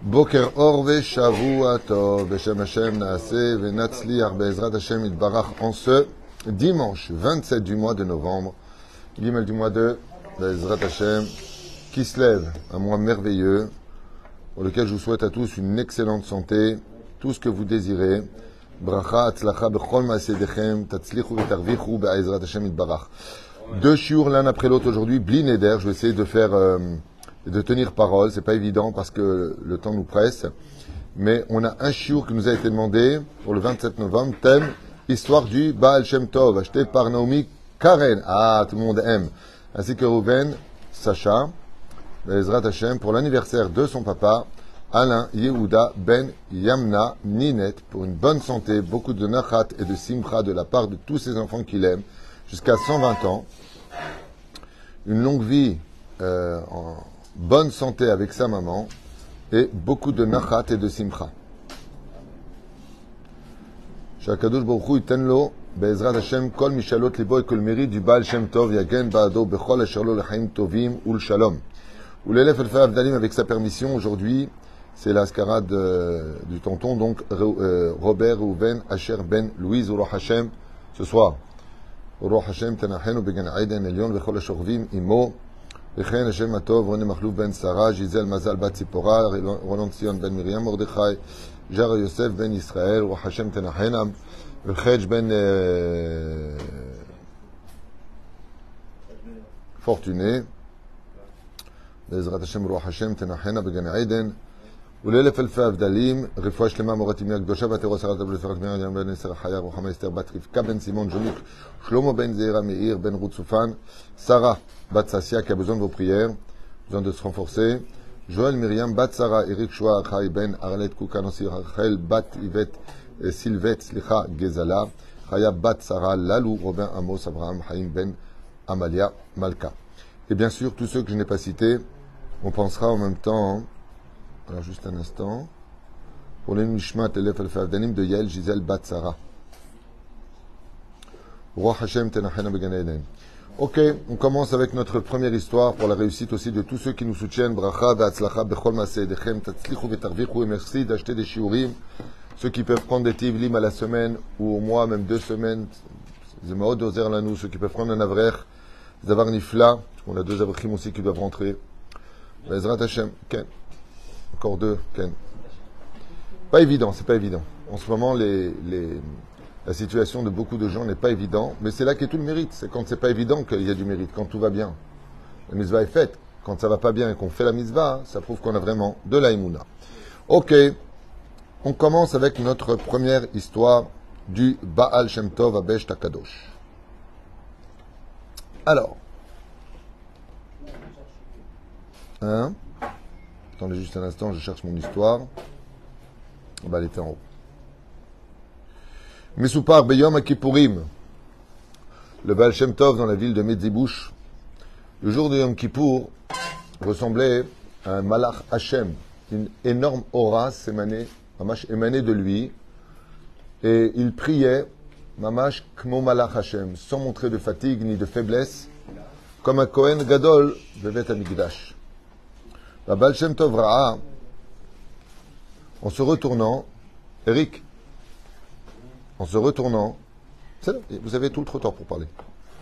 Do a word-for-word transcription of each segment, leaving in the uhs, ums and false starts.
Boker Or Veshavua Tov, Beshem Hashem Naaseh Venatzliach Be'ezrat Hashem Itbarach en ce dimanche vingt-sept du mois de novembre, Gimel du mois de Be'ezrat Hashem, qui se lève, un mois merveilleux, pour lequel je vous souhaite à tous une excellente santé, tout ce que vous désirez. Bracha, Atzlacha, Bechol Ma'asedechem, Tatzlichu Vetarvichu Be'ezrat Hashem Itbarach. Deux shiur l'un après l'autre aujourd'hui, Bli Neder, je vais essayer de faire... Euh, de tenir parole, c'est pas évident parce que le temps nous presse, mais on a un shiur qui nous a été demandé pour le vingt-sept novembre, thème histoire du Baal Shem Tov, acheté par Naomi Karen, ah tout le monde aime, ainsi que Reuven Sacha, Bezrat Hashem, pour l'anniversaire de son papa, Alain Yehuda Ben Yamna Ninet, pour une bonne santé, beaucoup de nachat et de simcha de la part de tous ses enfants qu'il aime, jusqu'à cent vingt ans, une longue vie euh, en bonne santé avec sa maman et beaucoup de nachat et de simcha. Shakadosh Baruch Hu iten lo be'ezrat Hashem kol mishalot libo et kol mérite du Baal Shem Tov yagen ba'ado bechol asher lo lechaim tovim ul shalom. Ou l'élève el fa avdalim avec sa permission. Aujourd'hui, c'est la scarade euh, du tonton, donc euh, Robert Reuven Asher Ben Louise Uro Hashem. Ce soir, Uro Hashem tenachenu began Aiden Elion bechol ashorvim imo. וכן השם הטוב, רוני מחלוף בן שרה, ז'יזל מזל בת ציפורה, רונן ציון בן מרים מרדכי, ז'רה יוסף בן ישראל, רוח השם תנחנה, וחדש בן פורטונה, בעזרת השם רוח השם תנחנה בגן עדן, ולאלף אלפי הבדלים, רפואה שלמה מורת ימי הקדושה, ותראו שרת הבלת ורק מרים ים בן עשר החיה, רוחמה אסתר בת רבקה בן סימון ג'וניק, שלמה בן זעירה מאיר, בן רות סופן, Sarah Bat Sassia qui a besoin de vos prières, besoin de se renforcer. Joël Myriam Bat Sarah, Eric Shoa, Chai Ben, Arlet Koukanossi, Rachel Bat Yvette, Sylvette, Slicha Gezala, Chaya Bat Sarah, Lalou, Robin Amos, Abraham, Haïm Ben, Amalia, Malka. Et bien sûr, tous ceux que je n'ai pas cités, on pensera en même temps, alors juste un instant, pour les Mishmat, Elef El Favdanim de Yael Gisèle Bat Sarah. Roi Hashem Tenachena Began Eden. Ok, on commence avec notre première histoire pour la réussite aussi de tous ceux qui nous soutiennent. Bracha, Ve'atzlacha, Bechol Ma'asedechem, Tatzlichu Vetarvichu, et merci d'acheter des shiurim. Ceux qui peuvent prendre des tivlim à la semaine ou au mois, même deux semaines, c'est Maod Ozer Lanou. Ceux qui peuvent prendre un avrer, Zavar Nifla, on a deux avrechim aussi qui doivent rentrer. Bezrat Hashem, Ken. Encore deux, Ken. Pas évident, c'est pas évident. En ce moment, les, les, la situation de beaucoup de gens n'est pas évidente, mais c'est là qu'est tout le mérite. C'est quand c'est pas évident qu'il y a du mérite, quand tout va bien. La mitzvah est faite. Quand ça va pas bien et qu'on fait la mitzvah, ça prouve qu'on a vraiment de la imuna. Ok, on commence avec notre première histoire du Baal Shem Tov Abesh Takadosh. Alors, hein? Attendez juste un instant, je cherche mon histoire. Bah, elle était en haut. Mesupar Beyom Kippourim, le Baal Shem Tov dans la ville de Medzibouch, le jour de Yom Kippour ressemblait à un Malach Hashem, une énorme aura s'émanait, Mamash émanait de lui, et il priait, Mamash Kmo Malach Hashem, sans montrer de fatigue ni de faiblesse, comme un Kohen Gadol de Bet Hamikdash. La Baal Shem Tov Ra'a, en se retournant, Eric, en se retournant, vous avez tout le trottoir pour parler.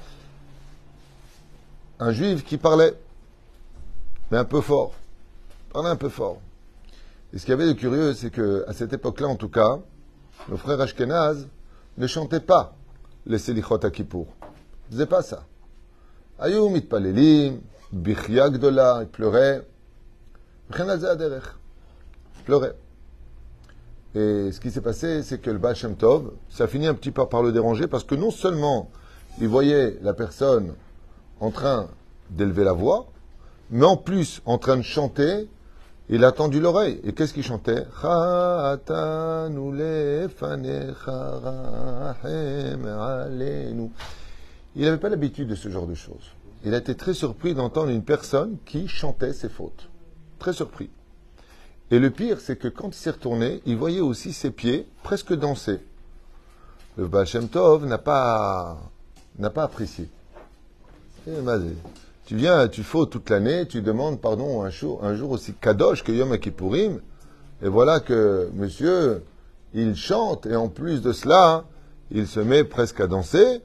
Un juif qui parlait, mais un peu fort, parlait un peu fort. Et ce qu'il y avait de curieux, c'est que à cette époque-là, en tout cas, nos frères Ashkenaz ne chantaient pas les Selichot à Kippour. Ils ne faisaient pas ça. Ayou mitpalelim, bichya gdola, ils pleuraient. Ils pleuraient. Et ce qui s'est passé, c'est que le Baal Shem Tov, ça a fini un petit peu par le déranger, parce que non seulement il voyait la personne en train d'élever la voix, mais en plus en train de chanter, il a tendu l'oreille. Et qu'est-ce qu'il chantait? Il n'avait pas l'habitude de ce genre de choses. Il a été très surpris d'entendre une personne qui chantait ses fautes. Très surpris. Et le pire, c'est que quand il s'est retourné, il voyait aussi ses pieds presque danser. Le Baal Shem Tov n'a pas, n'a pas apprécié. Eh, tu viens, tu fais toute l'année, tu demandes pardon un jour, un jour aussi kadosh que Yom Kippourim. Et voilà que monsieur, il chante, et en plus de cela, il se met presque à danser.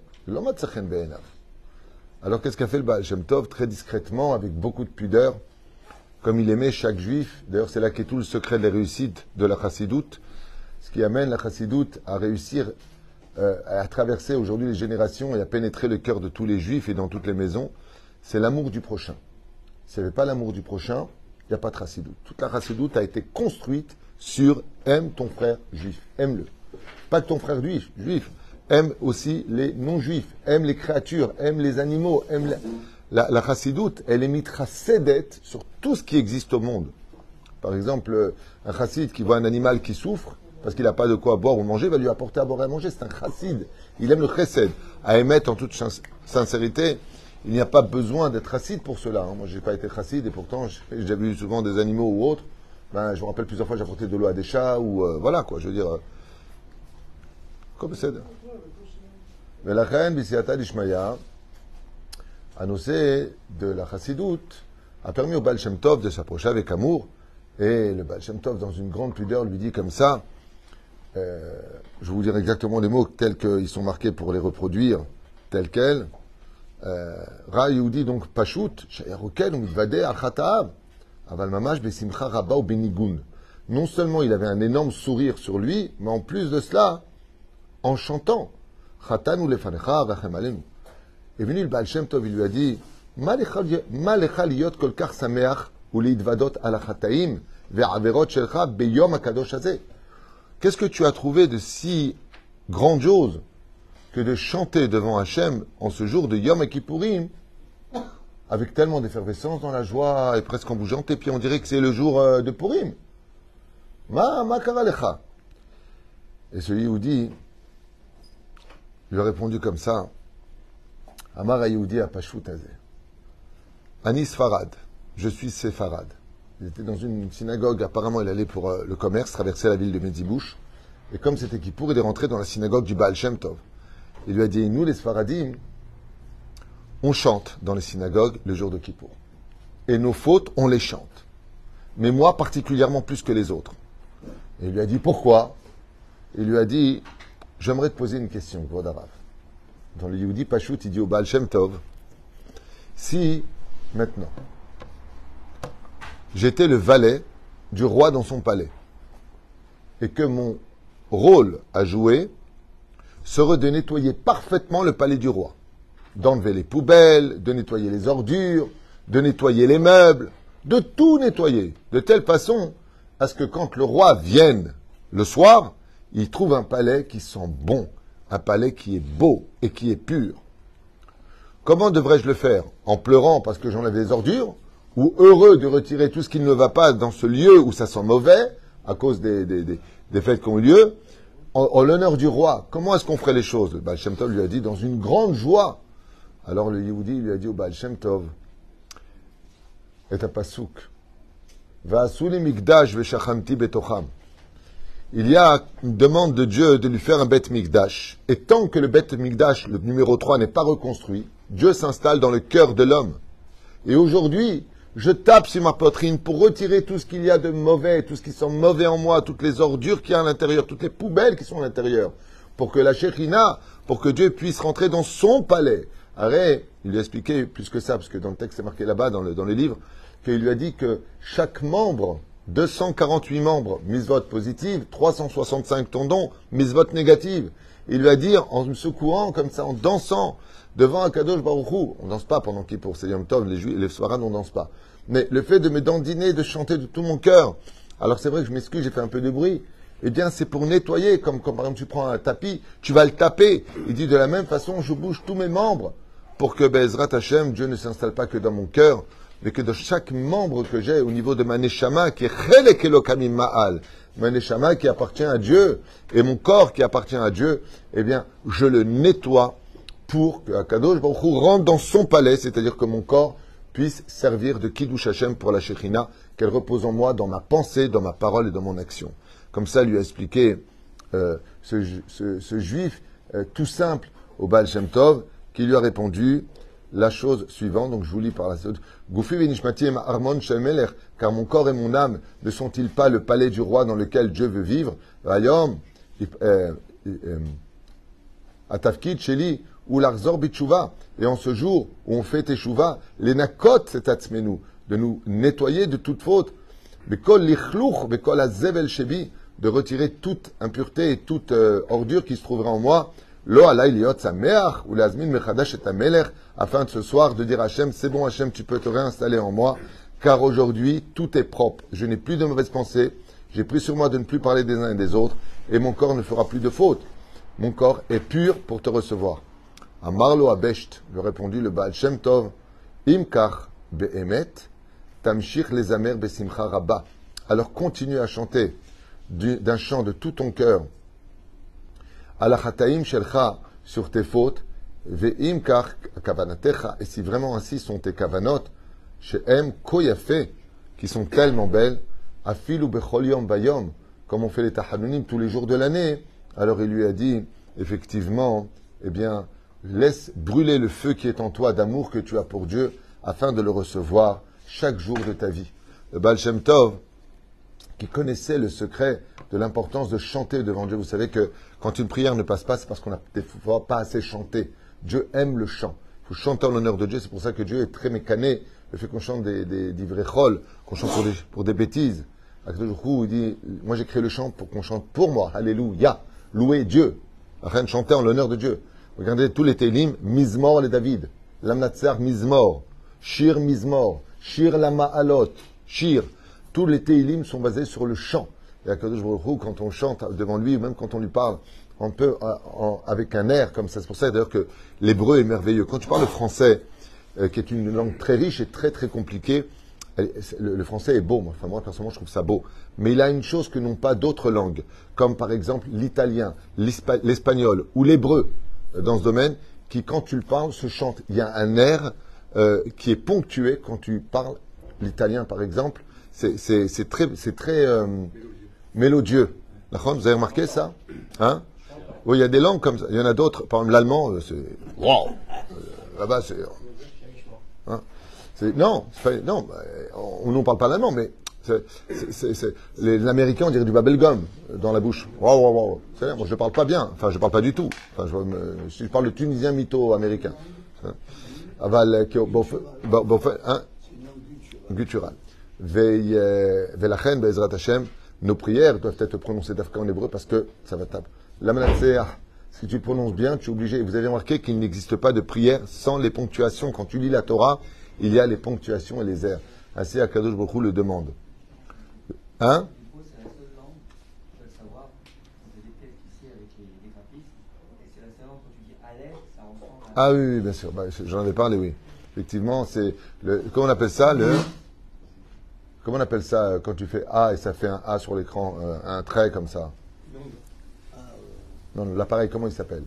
Alors qu'est-ce qu'a fait le Baal Shem Tov? Très discrètement, avec beaucoup de pudeur, comme il aimait chaque juif. D'ailleurs, c'est là qu'est tout le secret de la réussite de la chassidoute. Ce qui amène la chassidoute à réussir euh, à traverser aujourd'hui les générations et à pénétrer le cœur de tous les juifs et dans toutes les maisons, c'est l'amour du prochain. S'il n'y avait pas l'amour du prochain, il n'y a pas de chassidoute. Toute la chassidoute a été construite sur aime ton frère juif, aime-le. Pas que ton frère juif, juif, aime aussi les non-juifs, aime les créatures, aime les animaux, aime la, la, la chassidoute, elle est mitrasédet sur tout ce qui existe au monde. Par exemple, un chassid qui voit un animal qui souffre, parce qu'il n'a pas de quoi boire ou manger, va lui apporter à boire et à manger. C'est un chassid. Il aime le chesed. À émettre en toute sincérité, il n'y a pas besoin d'être chassid pour cela. Hein. Moi, je n'ai pas été chassid et pourtant, j'ai déjà vu souvent des animaux ou autres. Ben, je me rappelle plusieurs fois, j'ai apporté de l'eau à des chats ou euh, voilà quoi. Je veux dire, euh, comme c'est. Mais la reine Bisiata d'Ishmaïa, annoncé de la chassidoute, a permis au Baal Shem Tov de s'approcher avec amour. Et le Baal Shem Tov, dans une grande pudeur, lui dit comme ça. Euh, je vais vous dire exactement les mots tels qu'ils sont marqués pour les reproduire, tels quels. Ra Yehudi, donc Pashut, Shayarokel, donc Vadeh, Achataab, Aval Mamash, Besimcha Rabba ou Benigun. Non seulement il avait un énorme sourire sur lui, mais en plus de cela, en chantant, Chatanu lefanecha vachem alenu. Et venu le Baal Shem Tov, il lui a dit, Ma lecha liyot kol kach sameach ou liidvadot ala chataim ve'averot shelcha beyom hakadosh hazeh. Qu'est-ce que tu as trouvé de si grandiose que de chanter devant Hachem en ce jour de Yom Kippourim avec tellement d'effervescence dans la joie et presque en bougeant tes pieds, on dirait que c'est le jour euh, de Purim. Ma ma karalecha. Et ce Yehudi lui a répondu comme ça. Amar Yehudi a Pashut Hazeh. Ani Sfarad, je suis Séfarade. Il était dans une synagogue, apparemment il allait pour euh, le commerce, traverser la ville de Medzibouche. Et comme c'était Kippour, il est rentré dans la synagogue du Baal Shem Tov. Il lui a dit, nous les Sfaradim, on chante dans les synagogues le jour de Kippour. Et nos fautes, on les chante. Mais moi, particulièrement plus que les autres. Et il lui a dit, pourquoi? Il lui a dit, j'aimerais te poser une question, Gvodarav. Dans le Yehudi Pashut, il dit au Baal Shem Tov, si, maintenant, j'étais le valet du roi dans son palais, et que mon rôle à jouer serait de nettoyer parfaitement le palais du roi, d'enlever les poubelles, de nettoyer les ordures, de nettoyer les meubles, de tout nettoyer, de telle façon à ce que quand le roi vienne le soir, il trouve un palais qui sent bon, un palais qui est beau et qui est pur. Comment devrais-je le faire? En pleurant parce que j'enlève les ordures, ou heureux de retirer tout ce qui ne va pas dans ce lieu où ça sent mauvais, à cause des, des, des, des fêtes qui ont eu lieu, en, en l'honneur du roi? Comment est-ce qu'on ferait les choses? Le Baal Shem Tov lui a dit, dans une grande joie. Alors le Yehudi lui a dit au Baal Shem Tov, et à Pasuk, Va'asuli mikdash ve'shachamti betocham. Il y a une demande de Dieu de lui faire un Bet Mikdash. Et tant que le Bet Mikdash, le numéro trois, n'est pas reconstruit, Dieu s'installe dans le cœur de l'homme. Et aujourd'hui, je tape sur ma poitrine pour retirer tout ce qu'il y a de mauvais, tout ce qui sent mauvais en moi, toutes les ordures qu'il y a à l'intérieur, toutes les poubelles qui sont à l'intérieur, pour que la Shekhina, pour que Dieu puisse rentrer dans son palais. Arrête, il lui a expliqué plus que ça, parce que dans le texte c'est marqué là-bas, dans le, dans le livre, qu'il lui a dit que chaque membre, deux cent quarante-huit membres, misvot positive, trois cent soixante-cinq tendons, misvot négative. Il lui a dit, en me secouant comme ça, en dansant, devant un Kadosh Baruch Hu, on danse pas pendant Kippour, c'est Yom Tov, les Juifs, les Sfarad, on danse pas. Mais le fait de me dandiner, de chanter de tout mon cœur, alors c'est vrai que je m'excuse, j'ai fait un peu de bruit, eh bien c'est pour nettoyer, comme, comme par exemple tu prends un tapis, tu vas le taper. Il dit de la même façon, je bouge tous mes membres, pour que Be'ezrat Hashem, Dieu ne s'installe pas que dans mon cœur, mais que de chaque membre que j'ai au niveau de ma neshama, qui est Chelek Elokamim Ma'al, ma neshama qui appartient à Dieu, et mon corps qui appartient à Dieu, eh bien, je le nettoie pour que Akadosh Baruch Hu rentre dans son palais, c'est-à-dire que mon corps puisse servir de Kiddush Hashem pour la Shekhina, qu'elle repose en moi, dans ma pensée, dans ma parole et dans mon action. Comme ça, lui a expliqué euh, ce, ce, ce juif euh, tout simple au Baal Shem Tov, qui lui a répondu, la chose suivante, donc je vous lis par la suite. Goufi venishmati em armon shel melech, car mon corps et mon âme ne sont-ils pas le palais du roi dans lequel Dieu veut vivre? Vayom, atafkid sheli, ou l'arzor bitshuva. Et en ce jour où on fait teshuva, les nakot c'est atzmenu, de nous nettoyer de toute faute. Bekol lichlouch, bekol azevel shebi, de retirer toute impureté et toute euh, ordure qui se trouverait en moi. Lo alay liot sameach, ou l'azmin mechadash et amelech, afin de ce soir de dire à Hachem, c'est bon Hachem, tu peux te réinstaller en moi, car aujourd'hui tout est propre. Je n'ai plus de mauvaises pensées, j'ai pris sur moi de ne plus parler des uns et des autres, et mon corps ne fera plus de faute. Mon corps est pur pour te recevoir. Amarlo abesht, lui répondit le Baal Shem Tov, imkar be'emet, tamshich les amer besimcha rabba. Alors continue à chanter d'un chant de tout ton cœur. Alachataim shelcha, sur tes fautes, ve'im kar kavanatecha, et si vraiment ainsi sont tes kavanot, she'em koyafe, qui sont tellement belles, afilu bechol yom bayom, comme on fait les tahanunim tous les jours de l'année. Alors il lui a dit, effectivement, eh bien, laisse brûler le feu qui est en toi d'amour que tu as pour Dieu, afin de le recevoir chaque jour de ta vie. Le Baal Shem Tov, qui connaissait le secret de l'importance de chanter devant Dieu. Vous savez que quand une prière ne passe pas, c'est parce qu'on n'a des fois pas assez chanté. Dieu aime le chant. Il faut chanter en l'honneur de Dieu. C'est pour ça que Dieu est très mécané. Le fait qu'on chante des, des, des vrais chols, qu'on chante pour des, pour des bêtises. Il dit, moi j'ai créé le chant pour qu'on chante pour moi. Alléluia. Louer Dieu. Afin de chanter en l'honneur de Dieu. Regardez tous les télim. Mizmor les David. Lamnatsar Mizmor. Shir Mizmor. Shir Lama Alot. Shir. Tous les télim sont basés sur le chant. Et Akadosh Baruch Hu, quand on chante devant lui, même quand on lui parle, on peut, en, avec un air comme ça. C'est pour ça d'ailleurs que l'hébreu est merveilleux. Quand tu parles le français, euh, qui est une langue très riche et très très compliquée, elle, le, le français est beau. Moi, enfin, moi, personnellement, je trouve ça beau. Mais il a une chose que n'ont pas d'autres langues, comme par exemple l'italien, l'espagnol ou l'hébreu, euh, dans ce domaine, qui, quand tu le parles, se chante. Il y a un air euh, qui est ponctué quand tu parles l'italien, par exemple. C'est très, c'est très euh, mélodieux. Vous avez remarqué ça, hein? Oui, il y a des langues comme ça. Il y en a d'autres. Par exemple, l'allemand, c'est wow. Là-bas, c'est hein? Non, pas, non. On n'en parle pas l'allemand, mais l'américain, on dirait du bubblegum dans la bouche. Wow, wow, wow. Moi, je ne parle pas bien. Enfin, je ne parle pas du tout. Enfin, je, je parle le tunisien mytho-américain. Aval, hein? Guttural. Velachen, Be'ezrat Hashem, nos prières doivent être prononcées d'Afka en hébreu parce que ça va taper. La Manatseah, si tu prononces bien, tu es obligé. Vous avez remarqué qu'il n'existe pas de prière sans les ponctuations. Quand tu lis la Torah, il y a les ponctuations et les airs. Ainsi, Akadosh Baruch Hu le demande. Hein? Ah oui, oui, bien sûr. Bah, j'en avais parlé, oui. Effectivement, c'est le. Comment on appelle ça? Le. Comment on appelle ça quand tu fais A et ça fait un A sur l'écran, euh, un trait comme ça? Non, l'appareil, comment il s'appelle?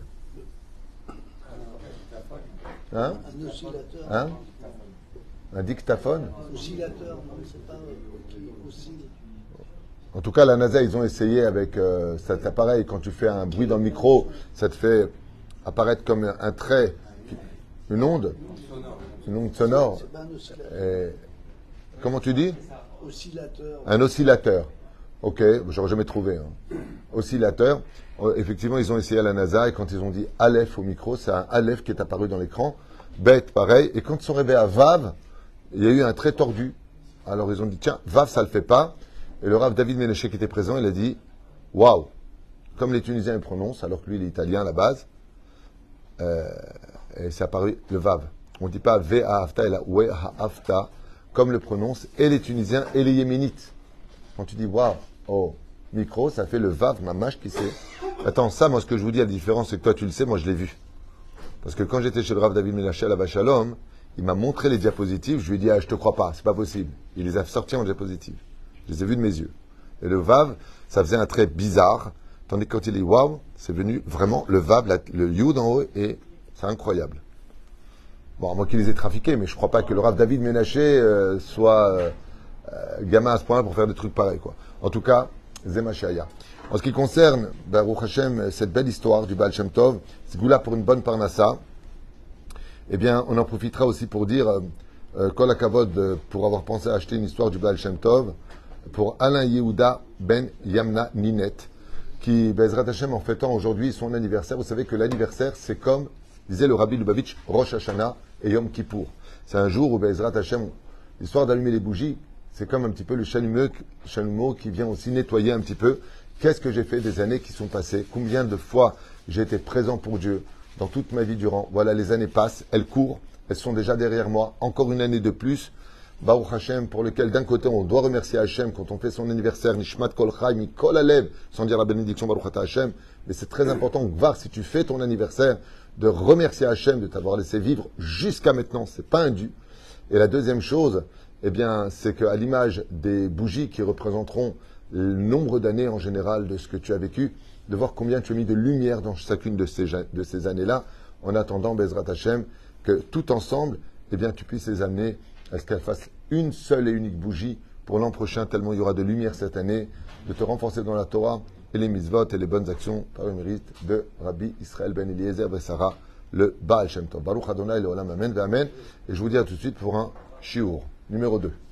Hein? Un oscillateur. Hein? Un dictaphone? Oscillateur, non, c'est pas qui oscille. En tout cas, la NASA, ils ont essayé avec euh, cet appareil. Quand tu fais un bruit dans le micro, ça te fait apparaître comme un, un trait, une onde, une onde sonore. C'est pas un oscillateur. Et, comment tu dis? Oscillateur. Un oscillateur. Ok, j'aurais jamais trouvé. Hein. Oscillateur. Effectivement, ils ont essayé à la NASA et quand ils ont dit Aleph au micro, c'est un Aleph qui est apparu dans l'écran. Bête, pareil. Et quand ils sont arrivés à Vav, il y a eu un trait tordu. Alors ils ont dit tiens, Vav, ça le fait pas. Et le Rav David Ménéché qui était présent, il a dit waouh, comme les Tunisiens le prononcent, alors que lui il est italien à la base, euh, et c'est apparu le Vav. On ne dit pas V A Hafta, il a We Ha Hafta, comme le prononcent et les Tunisiens et les Yéménites. Quand tu dis waouh, oh, micro, ça fait le Vav, mamash qui sait. Attends, ça, moi ce que je vous dis, la différence, c'est que toi tu le sais, moi je l'ai vu. Parce que quand j'étais chez le Rav David Ménéché à la Vachalom, il m'a montré les diapositives, je lui ai dit ah, je te crois pas, c'est pas possible. Il les a sortis en diapositives. Je les ai vus de mes yeux. Et le Vav, ça faisait un trait bizarre, tandis que quand il dit waouh, c'est venu vraiment le Vav, la, le Yud en haut, et c'est incroyable. Bon, moi qui les ai trafiqués, mais je ne crois pas que le Rav David Ménaché euh, soit euh, euh, gamin à ce point-là pour faire des trucs pareils, quoi. En tout cas, Zemashaya. En ce qui concerne, Baruch Hashem, cette belle histoire du Baal Shem Tov, Zgoula pour une bonne parnassa, eh bien, on en profitera aussi pour dire euh, euh, Kol HaKavod, euh, pour avoir pensé à acheter une histoire du Baal Shem Tov pour Alain Yehuda Ben Yamna Ninet, qui, Bezrat Hashem, en fêtant aujourd'hui son anniversaire. Vous savez que l'anniversaire, c'est comme, disait le Rabbi Lubavitch, Rosh Hashanah et Yom Kippour. C'est un jour où Bezrat Hashem, l'histoire d'allumer les bougies, c'est comme un petit peu le chalumeau, chalumeau qui vient aussi nettoyer un petit peu. Qu'est-ce que j'ai fait des années qui sont passées? Combien de fois j'ai été présent pour Dieu dans toute ma vie durant? Voilà, les années passent, elles courent, elles sont déjà derrière moi. Encore une année de plus. Baruch Hashem, pour lequel d'un côté on doit remercier Hashem quand on fait son anniversaire, Nishmat Kol Chai Mikol Alev, sans dire la bénédiction Baruch Ata Hashem, mais c'est très important, voir si tu fais ton anniversaire, de remercier Hashem de t'avoir laissé vivre jusqu'à maintenant, c'est pas un dû. Et la deuxième chose, eh bien, c'est qu'à l'image des bougies qui représenteront le nombre d'années en général de ce que tu as vécu, de voir combien tu as mis de lumière dans chacune de ces, de ces années-là, en attendant, Bezrat Hashem, que tout ensemble, eh bien, tu puisses les amener à ce qu'elle fasse une seule et unique bougie pour l'an prochain, tellement il y aura de lumière cette année, de te renforcer dans la Torah et les mitzvot et les bonnes actions par le mérite de Rabbi Israël Ben Eliezer Bessara, le Baal Shem Tov. Baruch Adonai, le Olam, Amen, Amen. Et je vous dis à tout de suite pour un shiur numéro deux.